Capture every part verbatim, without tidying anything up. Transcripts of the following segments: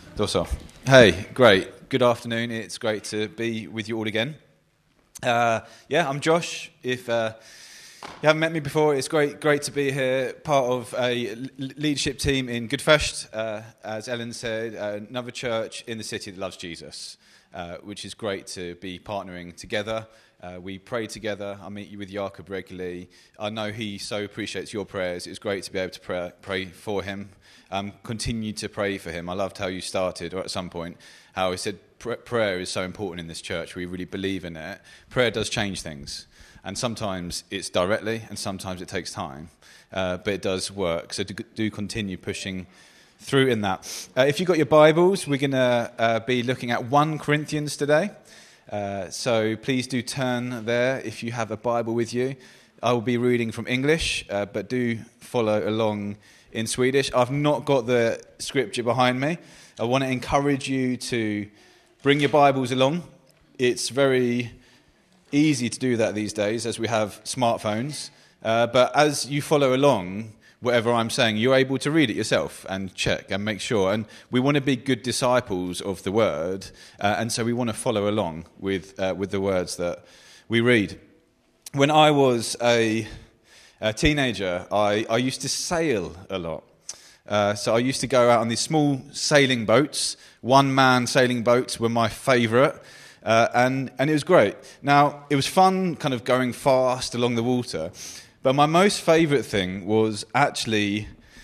Dosso. Hey, great. Good afternoon. It's great to be with you all again. Uh, yeah, I'm Josh. If uh, you haven't met me before, it's great great to be here, part of a leadership team in Goodfest, uh, as Ellen said, uh, another church in the city that loves Jesus, uh, which is great to be partnering together. Uh, we pray together. I meet you with Jakob regularly. I know he so appreciates your prayers. It's great to be able to pray, pray for him. Um, continue to pray for him. I loved how you started, or at some point, how he said pr- prayer is so important in this church. We really believe in it. Prayer does change things. And sometimes it's directly, and sometimes it takes time. Uh, but it does work. So do, do continue pushing through in that. Uh, if you've got your Bibles, we're going to uh, be looking at First Corinthians today. Uh, so please do turn there if you have a Bible with you. I will be reading from English, uh, but do follow along in Swedish. I've not got the scripture behind me. I want to encourage you to bring your Bibles along. It's very easy to do that these days as we have smartphones. Uh, but as you follow along, whatever I'm saying, you're able to read it yourself and check and make sure. And we want to be good disciples of the Word, uh, and so we want to follow along with uh, with the words that we read. When I was a, a teenager, I, I used to sail a lot. Uh, so I used to go out on these small sailing boats. One-man sailing boats were my favourite, uh, and, and it was great. Now, it was fun kind of going fast along the water, but my most favourite thing was actually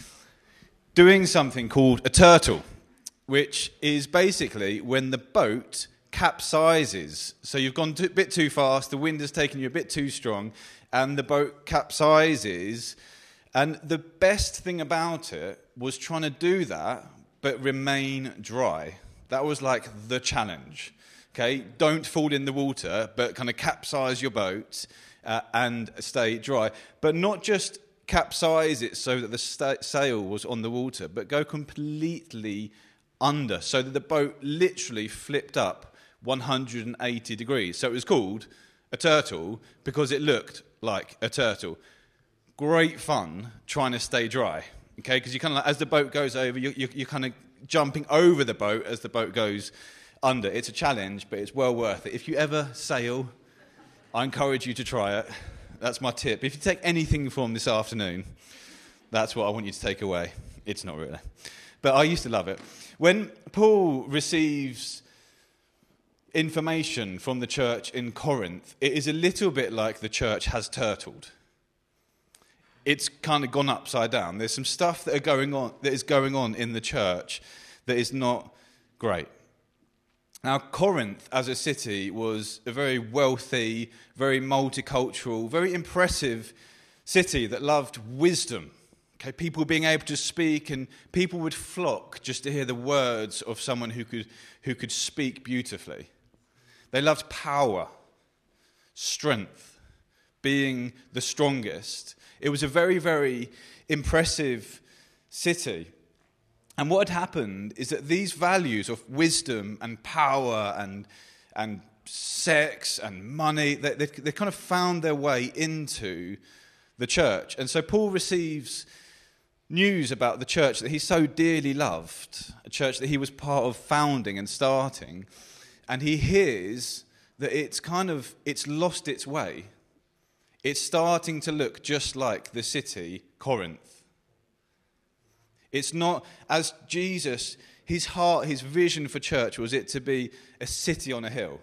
doing something called a turtle, which is basically when the boat capsizes. So you've gone a bit too fast, the wind has taken you a bit too strong, and the boat capsizes. And the best thing about it was trying to do that, but remain dry. That was like the challenge. Okay, don't fall in the water, but kind of capsize your boat uh, and stay dry. But not just capsize it so that the sta- sail was on the water, but go completely under, so that the boat literally flipped up one hundred eighty degrees. So it was called a turtle because it looked like a turtle. Great fun trying to stay dry, okay? Because you kind of like, as the boat goes over, you, you, you're kind of jumping over the boat as the boat goes under. It's a challenge, but it's well worth it. If you ever sail, I encourage you to try it. That's my tip. If you take anything from this afternoon, that's what I want you to take away. It's not really. But I used to love it. When Paul receives information from the church in Corinth, it is a little bit like the church has turtled. It's kind of gone upside down. There's some stuff that are going on that is going on in the church that is not great. Now, Corinth as a city was a very wealthy, very multicultural, very impressive city that loved wisdom. Okay, people being able to speak, and people would flock just to hear the words of someone who could who could speak beautifully. They loved power, strength, being the strongest. It was a very, very impressive city. And what had happened is that these values of wisdom and power and and sex and money, they, they, they kind of found their way into the church. And so Paul receives news about the church that he so dearly loved, a church that he was part of founding and starting, and he hears that it's kind of, it's lost its way. It's starting to look just like the city, Corinth. It's not, as Jesus, his heart, his vision for church was it to be a city on a hill,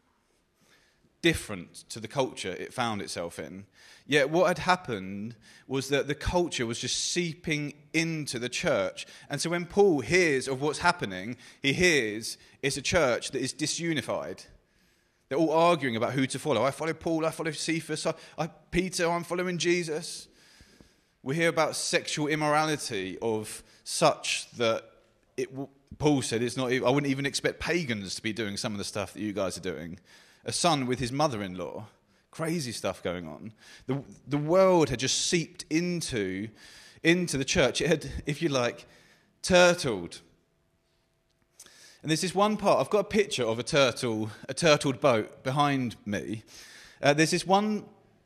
different to the culture it found itself in. Yet what had happened was that the culture was just seeping into the church. And so when Paul hears of what's happening, he hears it's a church that is disunified. They're all arguing about who to follow. I follow Paul, I follow Cephas, I, I, Peter, I'm following Jesus. We hear about sexual immorality of such that it, Paul said, it's not. I wouldn't even expect pagans to be doing some of the stuff that you guys are doing. A son with his mother-in-law. Crazy stuff going on. The, the world had just seeped into, into the church. It had, if you like, turtled. And there's this one part, I've got a picture of a turtle, a turtled boat behind me. Uh, there's this one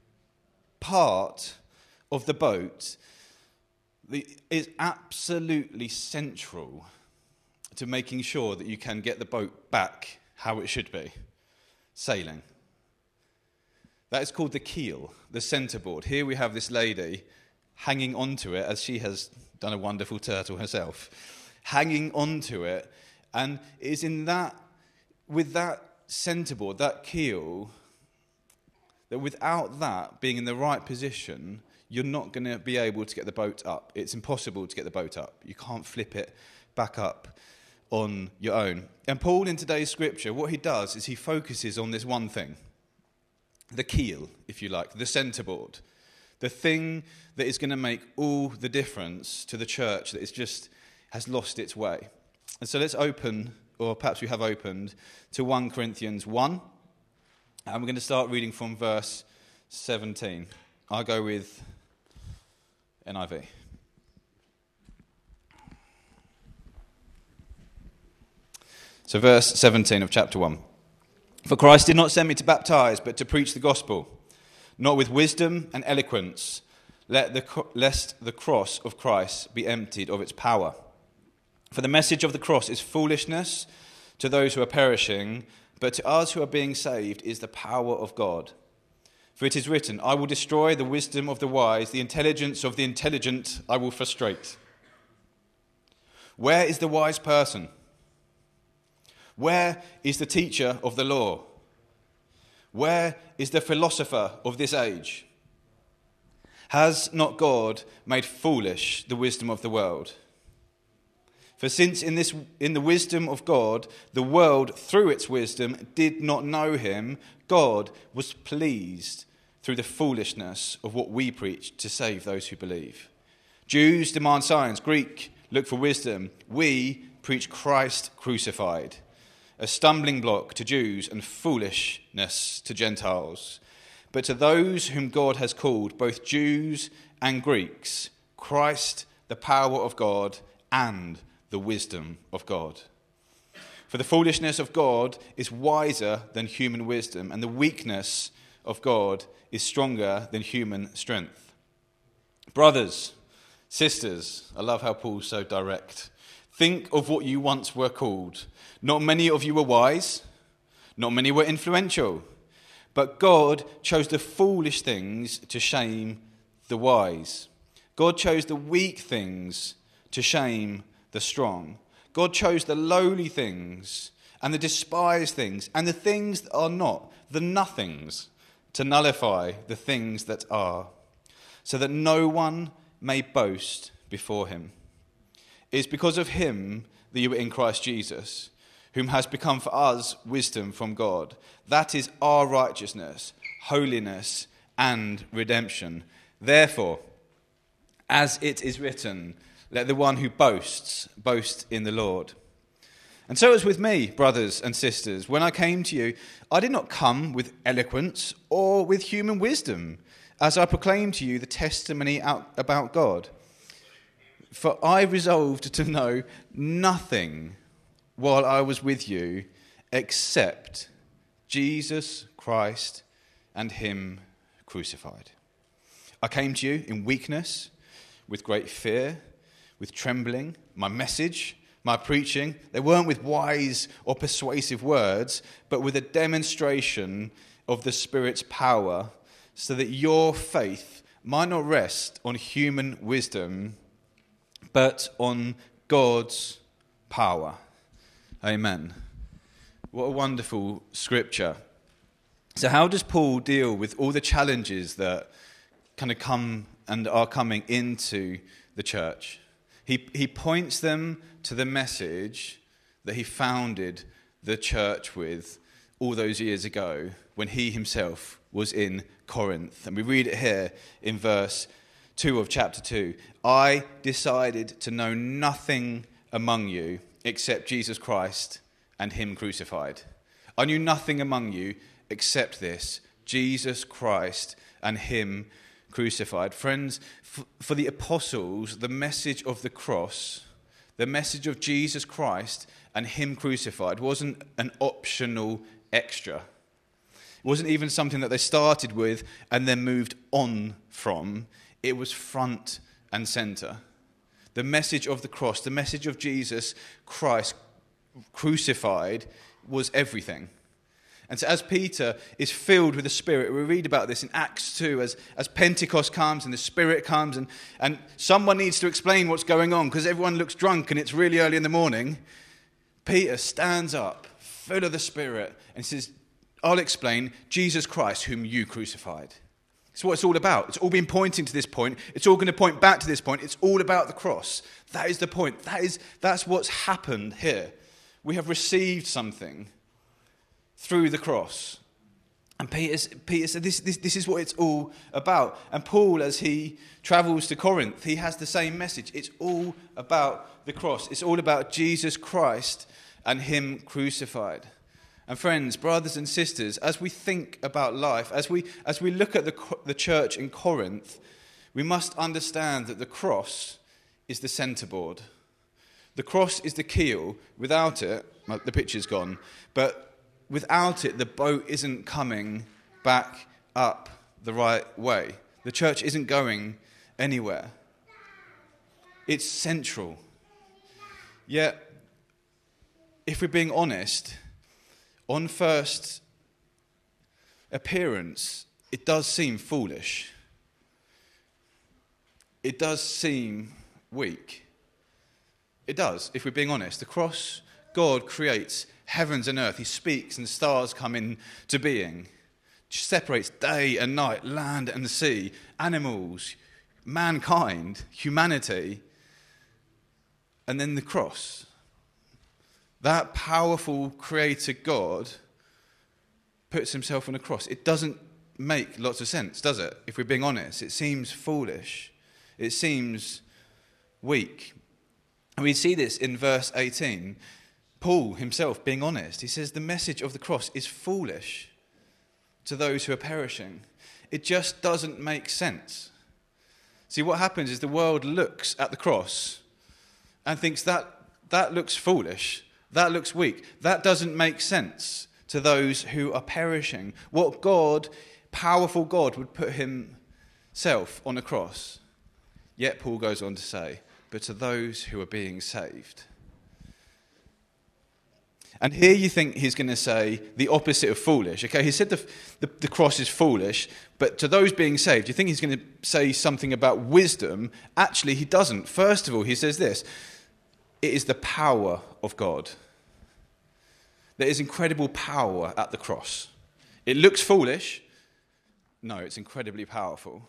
part of the boat that is absolutely central to making sure that you can get the boat back how it should be. Sailing. That is called the keel, the centreboard. Here we have this lady hanging onto it, as she has done a wonderful turtle herself, hanging onto it, and it is in that, with that centreboard, that keel, that without that being in the right position, you're not going to be able to get the boat up. It's impossible to get the boat up. You can't flip it back up on your own. And Paul, in today's scripture, what he does is he focuses on this one thing, the keel, if you like, the centreboard, the thing that is going to make all the difference to the church that is just has lost its way. And so let's open, or perhaps we have opened, to First Corinthians one, and we're going to start reading from verse seventeen. I'll go with N I V. So verse seventeen of chapter one. For Christ did not send me to baptize, but to preach the gospel, not with wisdom and eloquence, let the, lest the cross of Christ be emptied of its power. For the message of the cross is foolishness to those who are perishing, but to us who are being saved is the power of God. For it is written, I will destroy the wisdom of the wise, the intelligence of the intelligent I will frustrate. Where is the wise person? Where is the teacher of the law? Where is the philosopher of this age? Has not God made foolish the wisdom of the world? For since in this in the wisdom of God, the world through its wisdom did not know him, God was pleased through the foolishness of what we preach to save those who believe. Jews demand signs, Greek look for wisdom. We preach Christ crucified, a stumbling block to Jews and foolishness to Gentiles. But to those whom God has called, both Jews and Greeks, Christ, the power of God and the wisdom of God. For the foolishness of God is wiser than human wisdom, and the weakness of God is stronger than human strength. Brothers, sisters, I love how Paul's so direct. Think of what you once were called. Not many of you were wise, not many were influential, but God chose the foolish things to shame the wise. God chose the weak things to shame the strong. God chose the lowly things and the despised things and the things that are not, the nothings, to nullify the things that are, so that no one may boast before him. It is because of him that you are in Christ Jesus, whom has become for us wisdom from God. That is our righteousness, holiness, and redemption. Therefore, as it is written, let the one who boasts, boast in the Lord. And so it was with me, brothers and sisters. When I came to you, I did not come with eloquence or with human wisdom, as I proclaimed to you the testimony out about God. For I resolved to know nothing while I was with you except Jesus Christ and him crucified. I came to you in weakness, with great fear, with trembling. My message, my preaching, they weren't with wise or persuasive words, but with a demonstration of the Spirit's power, so that your faith might not rest on human wisdom, but on God's power. Amen. What a wonderful scripture. So how does Paul deal with all the challenges that kind of come and are coming into the church? He he points them to the message that he founded the church with all those years ago when he himself was in Corinth. And we read it here in verse two of chapter two. I decided to know nothing among you except Jesus Christ and him crucified. I knew nothing among you except this, Jesus Christ and him crucified. Friends, f- for the apostles, the message of the cross, the message of Jesus Christ and him crucified wasn't an optional extra. It wasn't even something that they started with and then moved on from. It was front and center. The message of the cross, the message of Jesus Christ crucified was everything. And so as Peter is filled with the Spirit, we read about this in Acts two, as, as Pentecost comes and the Spirit comes, and, and someone needs to explain what's going on because everyone looks drunk and it's really early in the morning. Peter stands up, full of the Spirit, and says, I'll explain Jesus Christ, whom you crucified. It's what it's all about. It's all been pointing to this point. It's all going to point back to this point. It's all about the cross. That is the point. That is, that's what's happened here. We have received something through the cross. And Peter, Peter said this, this, this is what it's all about. And Paul, as he travels to Corinth, he has the same message. It's all about the cross. It's all about Jesus Christ and him crucified. And friends, brothers and sisters, as we think about life, as we as we look at the, the church in Corinth, we must understand that the cross is the centerboard. The cross is the keel. Without it, well, the picture's gone, but without it, the boat isn't coming back up the right way. The church isn't going anywhere. It's central. Yet, if we're being honest, on first appearance, it does seem foolish. It does seem weak. It does, if we're being honest. The cross, God creates heavens and earth. He speaks and stars come into being. Separates day and night, land and sea, animals, mankind, humanity. And then the cross. That powerful creator God puts himself on a cross. It doesn't make lots of sense, does it? If we're being honest, it seems foolish. It seems weak. And we see this in verse eighteen. Paul himself being honest. He says the message of the cross is foolish to those who are perishing. It just doesn't make sense. See, what happens is the world looks at the cross and thinks that that looks foolish. That looks weak. That doesn't make sense to those who are perishing. What God, powerful God, would put himself on a cross. Yet Paul goes on to say, but to those who are being saved. And here you think he's going to say the opposite of foolish. Okay, he said the, the, the cross is foolish, but to those being saved, you think he's going to say something about wisdom. Actually, he doesn't. First of all, he says this. It is the power of God. There is incredible power at the cross. It looks foolish. No, it's incredibly powerful.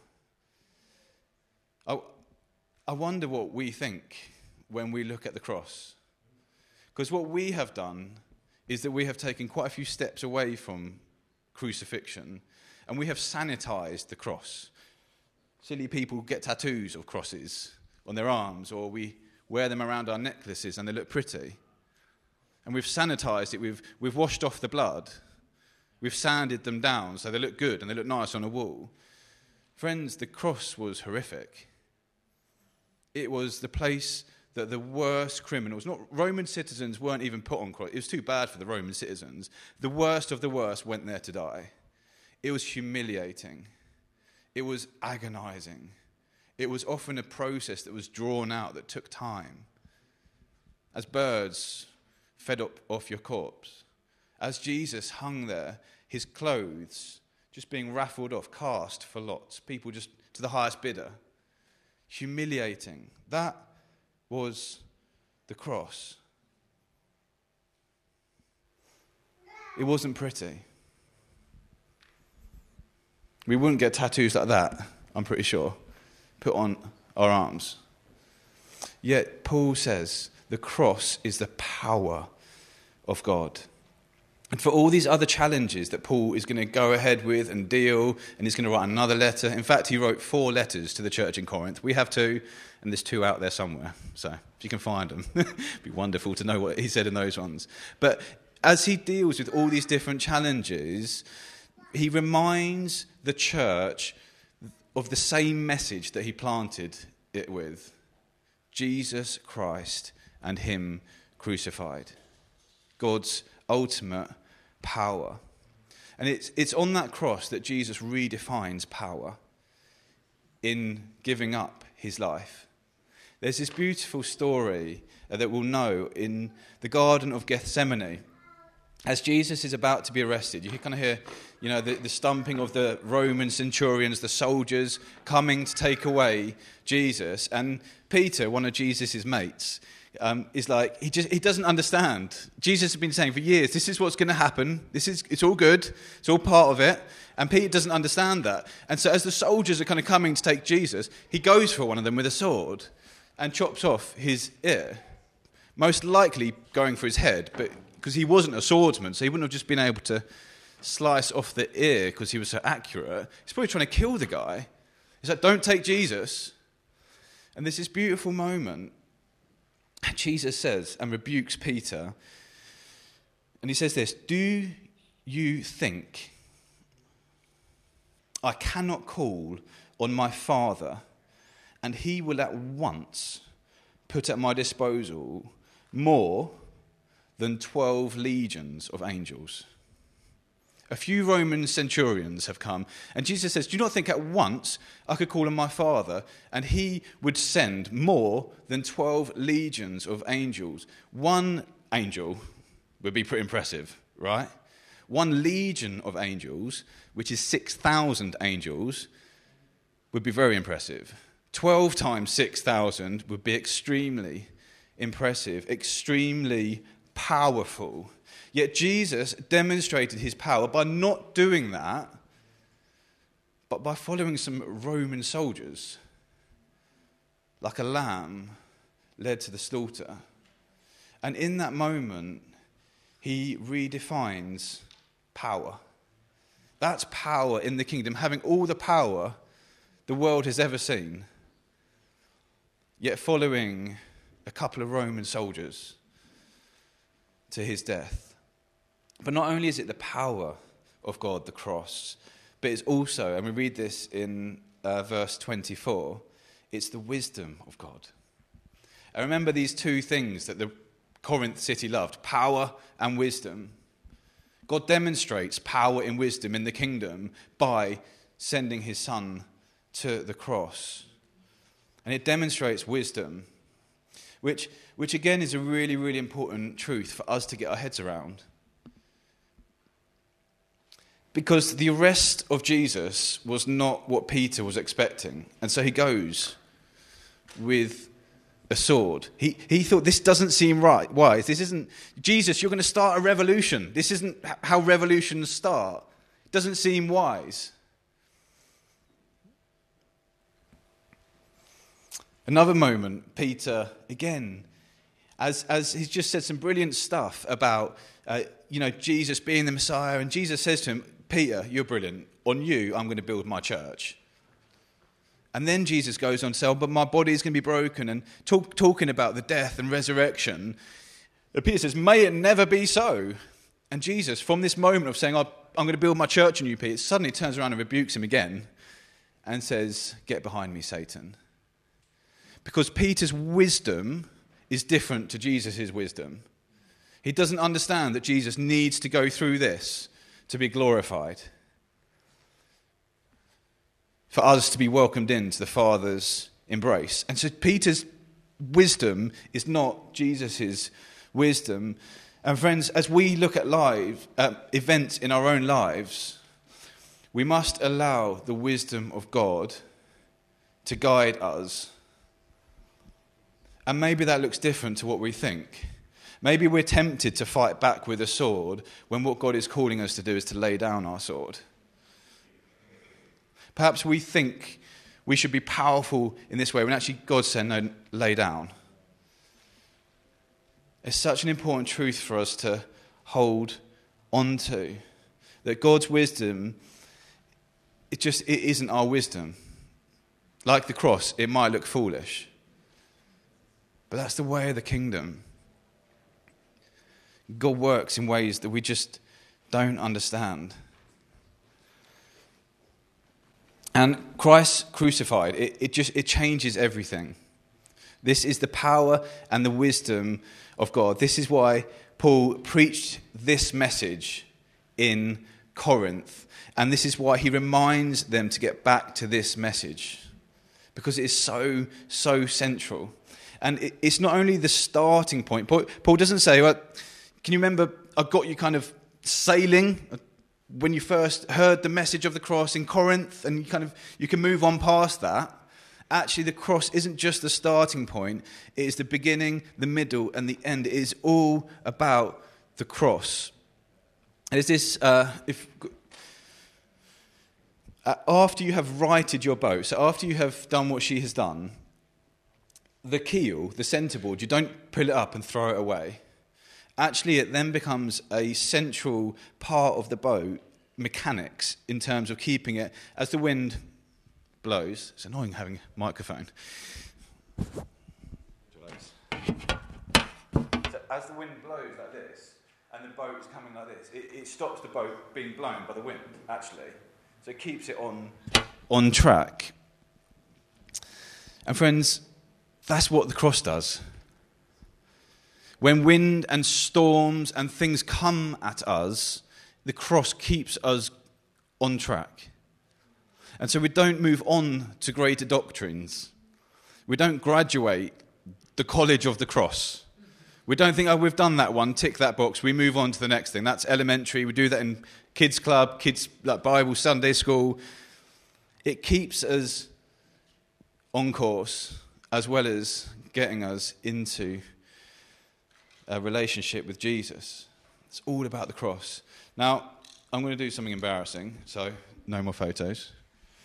I, I wonder what we think when we look at the cross. Because what we have done is that we have taken quite a few steps away from crucifixion and we have sanitized the cross. Silly people get tattoos of crosses on their arms, or we wear them around our necklaces and they look pretty. And we've sanitized it, we've, we've washed off the blood, we've sanded them down so they look good and they look nice on a wall. Friends, the cross was horrific. It was the place that the worst criminals, not Roman citizens weren't even put on cross. It was too bad for the Roman citizens. The worst of the worst went there to die. It was humiliating. It was agonizing. It was often a process that was drawn out, that took time. As birds fed up off your corpse. As Jesus hung there, his clothes just being raffled off, cast for lots. People just to the highest bidder. Humiliating. That was the cross. It wasn't pretty. We wouldn't get tattoos like that, I'm pretty sure, put on our arms. Yet Paul says the cross is the power of God. And for all these other challenges that Paul is going to go ahead with and deal, and he's going to write another letter. In fact, he wrote four letters to the church in Corinth. We have two, and there's two out there somewhere. So if you can find them, it'd be wonderful to know what he said in those ones. But as he deals with all these different challenges, he reminds the church of the same message that he planted it with. Jesus Christ and him crucified. God's ultimate power. And it's it's on that cross that Jesus redefines power in giving up his life. There's this beautiful story uh, that we'll know in the Garden of Gethsemane. As Jesus is about to be arrested, you kind of hear, you know, the, the stumping of the Roman centurions, the soldiers coming to take away Jesus. And Peter, one of Jesus' mates, um, is like, he just he doesn't understand. Jesus has been saying for years, this is what's going to happen. This is it's all good. It's all part of it. And Peter doesn't understand that. And so as the soldiers are kind of coming to take Jesus, he goes for one of them with a sword and chops off his ear. Most likely going for his head, but because he wasn't a swordsman, so he wouldn't have just been able to slice off the ear because he was so accurate. He's probably trying to kill the guy. He's like, don't take Jesus. And there's this beautiful moment. Jesus says and rebukes Peter. And he says this, do you think I cannot call on my Father and he will at once put at my disposal more than twelve legions of angels? A few Roman centurions have come, and Jesus says, do you not think at once I could call on my Father, and he would send more than twelve legions of angels? One angel would be pretty impressive, right? One legion of angels, which is six thousand angels, would be very impressive. twelve times six thousand would be extremely impressive, extremely powerful. Yet Jesus demonstrated his power by not doing that, but by following some Roman soldiers, like a lamb led to the slaughter. And in that moment, he redefines power. That's power in the kingdom, having all the power the world has ever seen, yet following a couple of Roman soldiers to his death. But not only is it the power of God, the cross, but it's also, and we read this in uh, verse twenty-four, it's the wisdom of God. And remember these two things that the Corinth city loved, power and wisdom. God demonstrates power and wisdom in the kingdom by sending his son to the cross. And it demonstrates wisdom, which, which again is a really, really important truth for us to get our heads around. Because the arrest of Jesus was not what Peter was expecting. And so he goes with a sword. He he thought, this doesn't seem right. Wise. This isn't, Jesus, you're going to start a revolution. This isn't how revolutions start. It doesn't seem wise. Another moment, Peter, again, as as he's just said some brilliant stuff about, uh, you know, Jesus being the Messiah. And Jesus says to him, Peter, you're brilliant. On you, I'm going to build my church. And then Jesus goes on to say, oh, but my body is going to be broken, and talk, talking about the death and resurrection. And Peter says, may it never be so. And Jesus, from this moment of saying, oh, I'm going to build my church on you, Peter, suddenly turns around and rebukes him again and says, get behind me, Satan. Because Peter's wisdom is different to Jesus' wisdom. He doesn't understand that Jesus needs to go through this to be glorified, for us to be welcomed into the Father's embrace. And so Peter's wisdom is not Jesus' wisdom. And friends, as we look at live uh, events in our own lives, we must allow the wisdom of God to guide us. And maybe that looks different to what we think. Maybe we're tempted to fight back with a sword when what God is calling us to do is to lay down our sword. Perhaps we think we should be powerful in this way when actually God said, no, lay down. It's such an important truth for us to hold on to. That God's wisdom, it just it isn't our wisdom. Like the cross, it might look foolish. But that's the way of the kingdom. God works in ways that we just don't understand. And Christ crucified, it, it just it changes everything. This is the power and the wisdom of God. This is why Paul preached this message in Corinth. And this is why he reminds them to get back to this message. Because it is so, so central. And it, it's not only the starting point. Paul, Paul doesn't say, well, can you remember I got you kind of sailing when you first heard the message of the cross in Corinth, and you kind of you can move on past that. Actually, the cross isn't just the starting point. It is the beginning, the middle, and the end. It is all about the cross. There's this, uh, if uh, after you have righted your boat, so after you have done what she has done, the keel, the centerboard, you don't pull it up and throw it away. Actually, it then becomes a central part of the boat mechanics in terms of keeping it as the wind blows. It's annoying having a microphone. So as the wind blows like this, and the boat is coming like this, it, it stops the boat being blown by the wind, actually. So it keeps it on, on track. And friends, that's what the cross does. When wind and storms and things come at us, the cross keeps us on track. And so we don't move on to greater doctrines. We don't graduate the college of the cross. We don't think, oh, we've done that one, tick that box, we move on to the next thing. That's elementary. We do that in kids' club, kids' like Bible, Sunday school. It keeps us on course as well as getting us into a relationship with Jesus. It's all about the cross. Now, I'm going to do something embarrassing, so no more photos.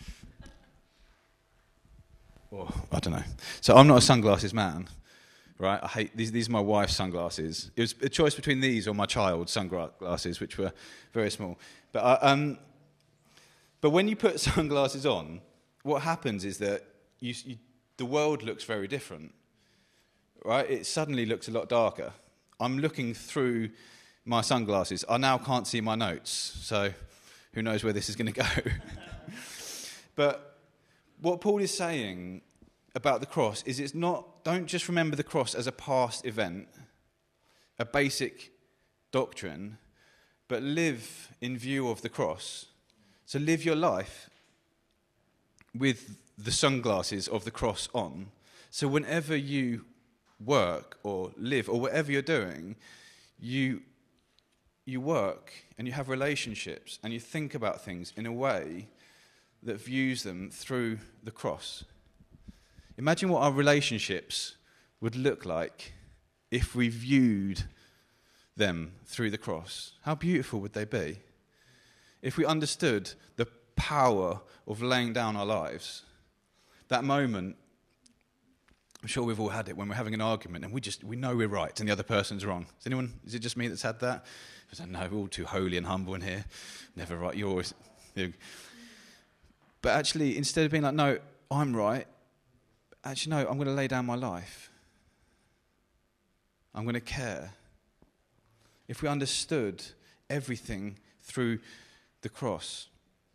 Or, I don't know. So I'm not a sunglasses man, right? I hate these. These are my wife's sunglasses. It was a choice between these or my child's sunglasses, which were very small. But uh, um, but when you put sunglasses on, what happens is that you, you, the world looks very different, right? It suddenly looks a lot darker. I'm looking through my sunglasses. I now can't see my notes, so who knows where this is going to go. But what Paul is saying about the cross is it's not, don't just remember the cross as a past event, a basic doctrine, but live in view of the cross. So live your life with the sunglasses of the cross on. So whenever you work or live or whatever you're doing, you you work and you have relationships and you think about things in a way that views them through the cross. Imagine what our relationships would look like if we viewed them through the cross. How beautiful would they be? If we understood the power of laying down our lives. That moment, I'm sure we've all had it when we're having an argument and we just we know we're right and the other person's wrong. Is anyone? Is it just me that's had that? I said, no, we're all too holy and humble in here. Never right. You're always. You know. But actually, instead of being like, no, I'm right. Actually, no, I'm going to lay down my life. I'm going to care. If we understood everything through the cross.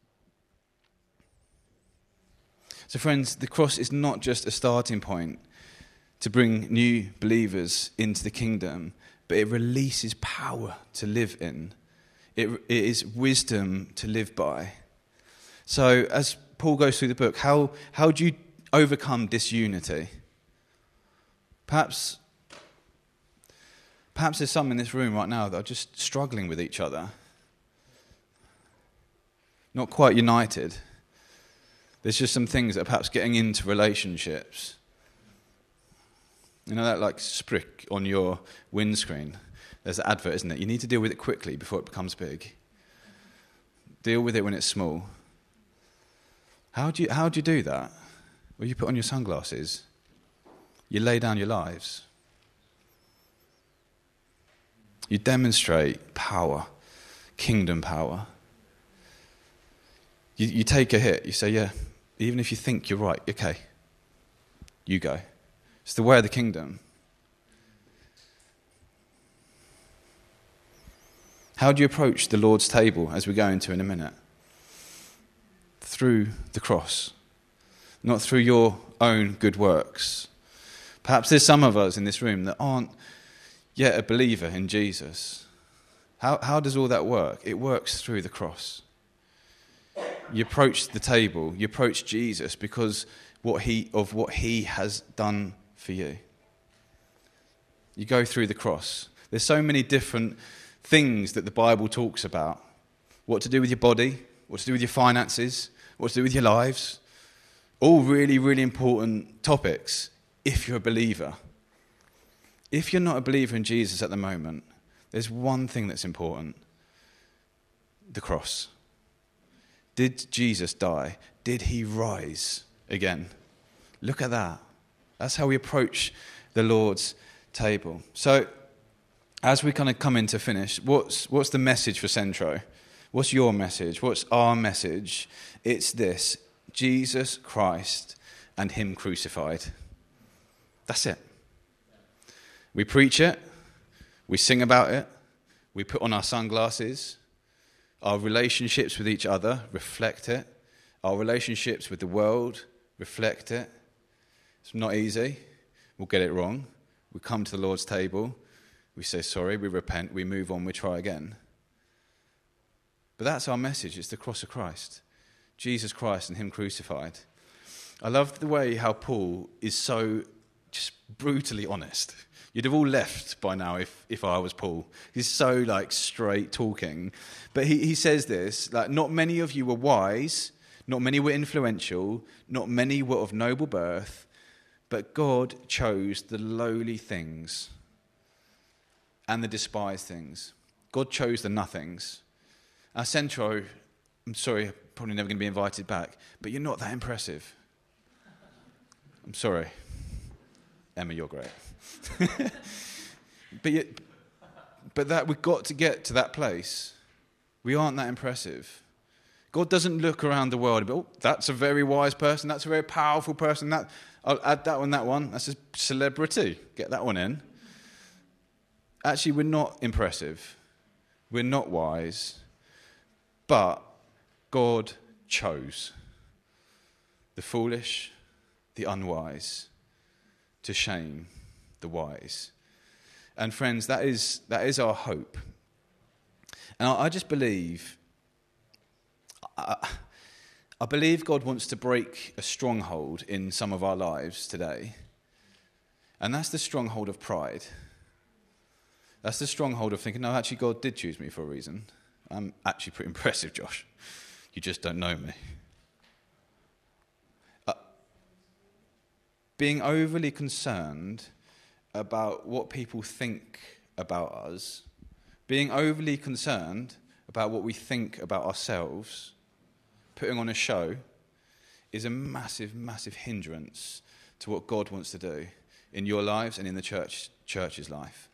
So friends, the cross is not just a starting point to bring new believers into the kingdom, but it releases power to live in. It, it is wisdom to live by. So as Paul goes through the book, how, how do you overcome disunity? Perhaps, perhaps there's some in this room right now that are just struggling with each other. Not quite united. There's just some things that are perhaps getting into relationships. You know that like sprick on your windscreen? There's an advert, isn't it? You need to deal with it quickly before it becomes big. Deal with it when it's small. How do you, how do you do that? Well, you put on your sunglasses. You lay down your lives. You demonstrate power, kingdom power. You, you take a hit. You say, yeah, even if you think you're right, okay, you go. It's the way of the kingdom. How do you approach the Lord's table, as we go into in a minute? Through the cross, not through your own good works. Perhaps there's some of us in this room that aren't yet a believer in Jesus. How, how does all that work? It works through the cross. You approach the table, you approach Jesus because what he of what he has done for you. You go through the cross. There's so many different things that the Bible talks about. What to do with your body, what to do with your finances, what to do with your lives. All really, really important topics if you're a believer. If you're not a believer in Jesus at the moment, there's one thing that's important. The cross. Did Jesus die? Did he rise again? Look at that. That's how we approach the Lord's table. So, as we kind of come in to finish, what's what's the message for Centro? What's your message? What's our message? It's this: Jesus Christ and him crucified. That's it. We preach it, we sing about it, we put on our sunglasses. Our relationships with each other reflect it. Our relationships with the world reflect it. It's not easy. We'll get it wrong. We come to the Lord's table. We say sorry. We repent. We move on. We try again. But that's our message. It's the cross of Christ. Jesus Christ and him crucified. I love the way how Paul is so just brutally honest. You'd have all left by now if, if I was Paul. He's so like straight talking. But he, he says this, like, not many of you were wise, not many were influential, not many were of noble birth, but God chose the lowly things and the despised things. God chose the nothings. Our Centro, I'm sorry, I'm probably never going to be invited back, but you're not that impressive. I'm sorry. Emma, you're great. but yet, but that we've got to get to that place. We aren't that impressive. God doesn't look around the world and go, oh, that's a very wise person, that's a very powerful person, that I'll add that one, that one, that's a celebrity, get that one in. Actually, we're not impressive. We're not wise. But God chose the foolish, the unwise, to shame the wise. And friends, that is that is our hope. And I, I just believe, I, I believe God wants to break a stronghold in some of our lives today. And that's the stronghold of pride. That's the stronghold of thinking, no, actually God did choose me for a reason. I'm actually pretty impressive, Josh. You just don't know me. Uh, being overly concerned about what people think about us, being overly concerned about what we think about ourselves, putting on a show, is a massive, massive hindrance to what God wants to do in your lives and in the church church's life.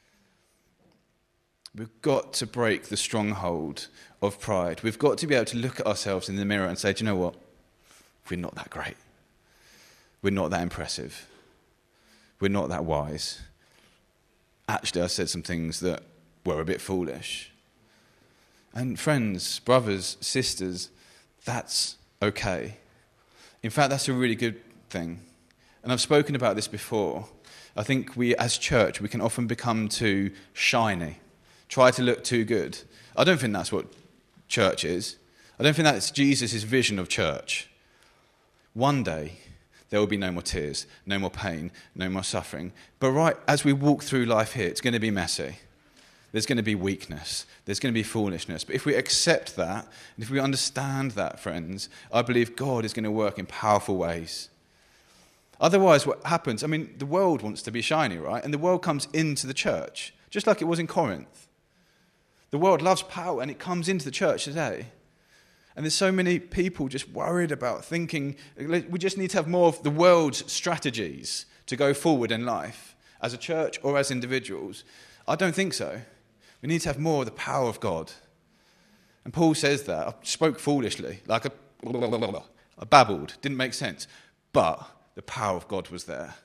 We've got to break the stronghold of pride. We've got to be able to look at ourselves in the mirror and say, do you know what? We're not that great. We're not that impressive. We're not that wise. Actually, I said some things that were a bit foolish. And friends, brothers, sisters, that's okay. In fact, that's a really good thing. And I've spoken about this before. I think we, as church, we can often become too shiny. Try to look too good. I don't think that's what church is. I don't think that's Jesus' vision of church. One day, there will be no more tears, no more pain, no more suffering. But right as we walk through life here, it's going to be messy. There's going to be weakness. There's going to be foolishness. But if we accept that, and if we understand that, friends, I believe God is going to work in powerful ways. Otherwise, what happens, I mean, the world wants to be shiny, right? And the world comes into the church, just like it was in Corinth. The world loves power, and it comes into the church today. And there's so many people just worried about thinking, we just need to have more of the world's strategies to go forward in life, as a church or as individuals. I don't think so. We need to have more of the power of God. And Paul says that. I spoke foolishly, like a, I babbled, didn't make sense. But the power of God was there.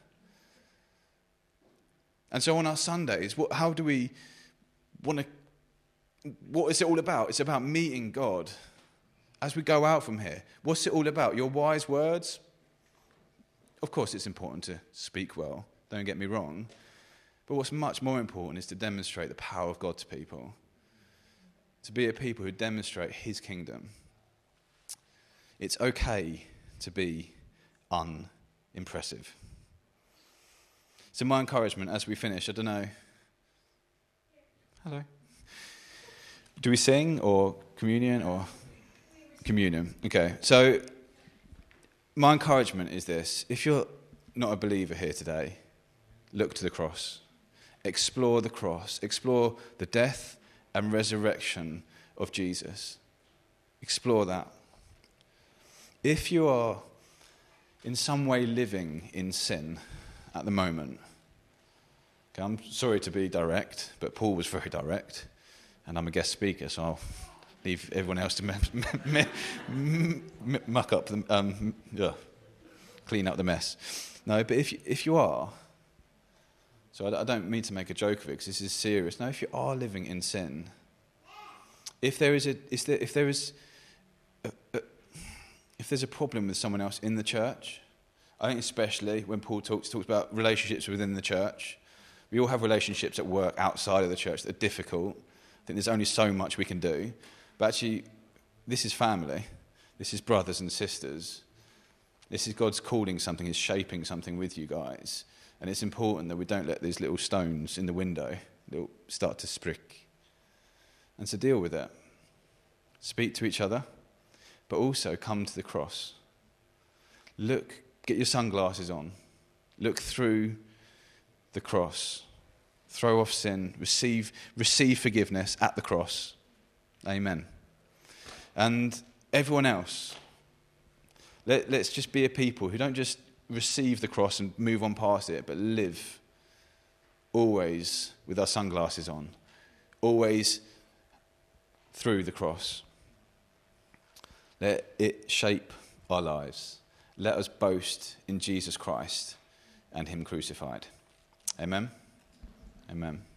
And so on our Sundays, what, how do we want to, what is it all about? It's about meeting God. As we go out from here, what's it all about? Your wise words? Of course it's important to speak well, don't get me wrong. But what's much more important is to demonstrate the power of God to people. To be a people who demonstrate his kingdom. It's okay to be unimpressive. So my encouragement as we finish, I don't know. Hello. Do we sing or communion or communion? Okay. So my encouragement is this. If you're not a believer here today, look to the cross. Explore the cross. Explore the death and resurrection of Jesus. Explore that. If you are in some way living in sin at the moment, okay, I'm sorry to be direct, but Paul was very direct, and I'm a guest speaker, so I'll leave everyone else to me, me, me, me, muck up, the, um, yeah, clean up the mess. No, but if you, if you are, so I, I don't mean to make a joke of it because this is serious. No, if you are living in sin, if there is a, is there, if there is, a, a, if there's a problem with someone else in the church, I think especially when Paul talks talks about relationships within the church, we all have relationships at work outside of the church that are difficult. I think there's only so much we can do, but actually, this is family. This is brothers and sisters. This is God's calling something, He's shaping something with you guys. And it's important that we don't let these little stones in the window start to sprick. And to deal with it. Speak to each other, but also come to the cross. Look, get your sunglasses on. Look through the cross. Throw off sin. Receive, receive forgiveness at the cross. Amen. And everyone else, let, let's just be a people who don't just receive the cross and move on past it, but live always with our sunglasses on, always through the cross. Let it shape our lives. Let us boast in Jesus Christ and Him crucified. Amen. Amen.